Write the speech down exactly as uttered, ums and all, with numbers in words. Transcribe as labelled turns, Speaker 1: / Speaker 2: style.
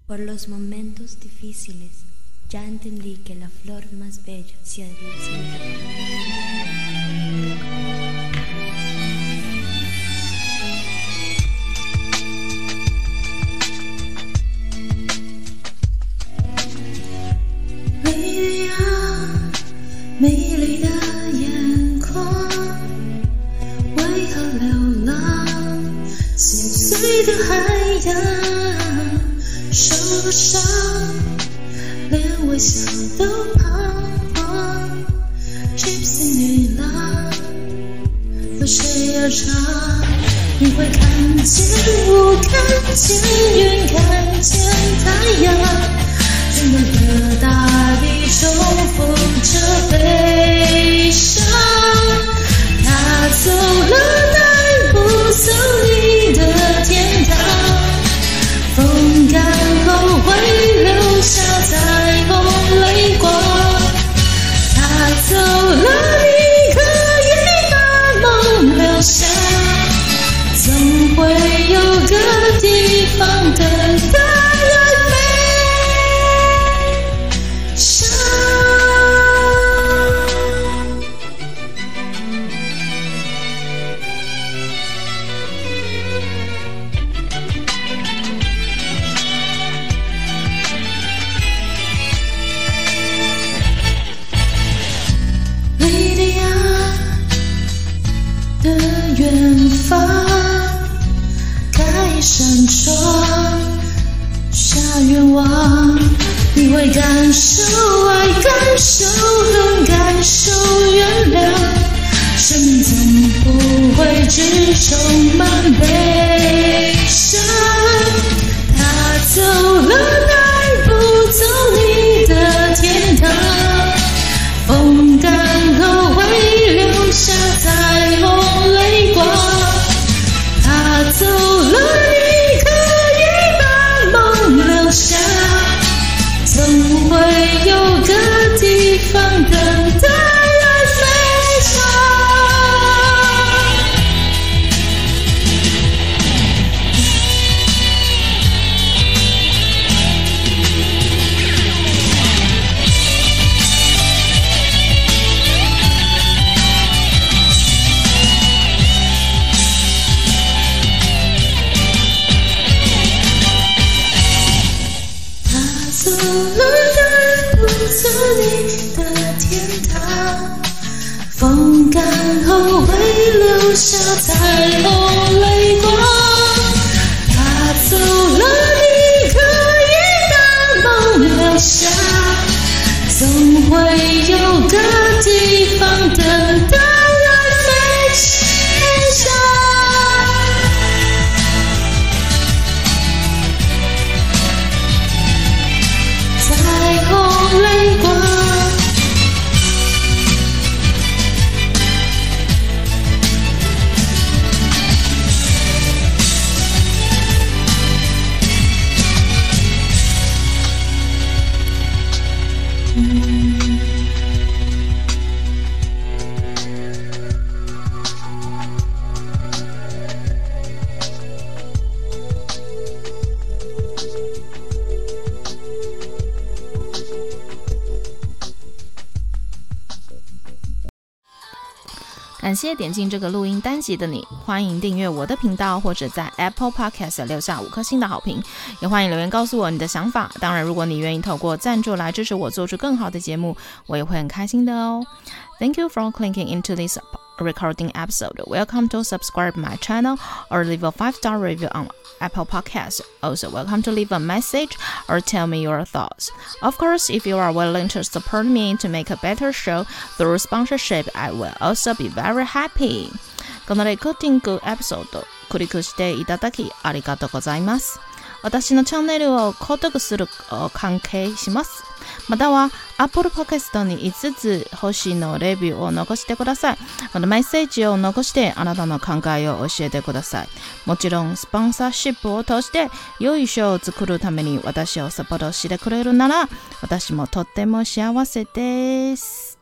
Speaker 1: Por los momentos difíciles, ya entendí que la flor más bella se haría siempre.
Speaker 2: 美麗的眼眶，為何流浪？心碎的海洋，受了傷，連微笑都彷徨。Gypsy 女郎，為誰而唱？你會看見我，看見雲，看見太陽。整個大地重複着悲傷，他走了，帶不走你的天堂。風乾後會留下彩虹淚光，他走了，你可以把夢留下，總會有個地方等待。遠方開一扇窗，下願望，你會感受愛，感受恨，感受原諒。生命總不會只充滿悲傷，他走了，帶不走你的天堂。風乾後會留下彩虹淚光，他走了，你可以把夢留下，總會有個地方等待愛飛翔。走了，帶不走你的天堂。風乾後會留下彩虹淚光，他走了，你可以把夢留下，總會有個地方等待愛飛翔。彩虹淚光，
Speaker 3: 感謝點進這個錄音單集的你，歡迎訂閱我的頻道，或者在 Apple Podcast 留下五顆星的好評，也歡迎留言告訴我你的想法。當然，如果你願意透過贊助來支持我做出更好的節目，我也會很開心的哦。Thank you for clicking into this recording episode. Welcome to subscribe my channel or leave a five-star review on Apple Podcasts. Also, welcome to leave a message or tell me your thoughts. Of course, if you are willing to support me to make a better show through sponsorship, I will also be very happy. このレコーディングエピソード、クリックしていただきありがとうございます。私のチャンネルを購読する関係します。または Apple Podcast にいつつ星のレビューを残してください。またメッセージを残してあなたの考えを教えてください。もちろんスポンサーシップを通して良いショーを作るために私をサポートしてくれるなら私もとっても幸せです。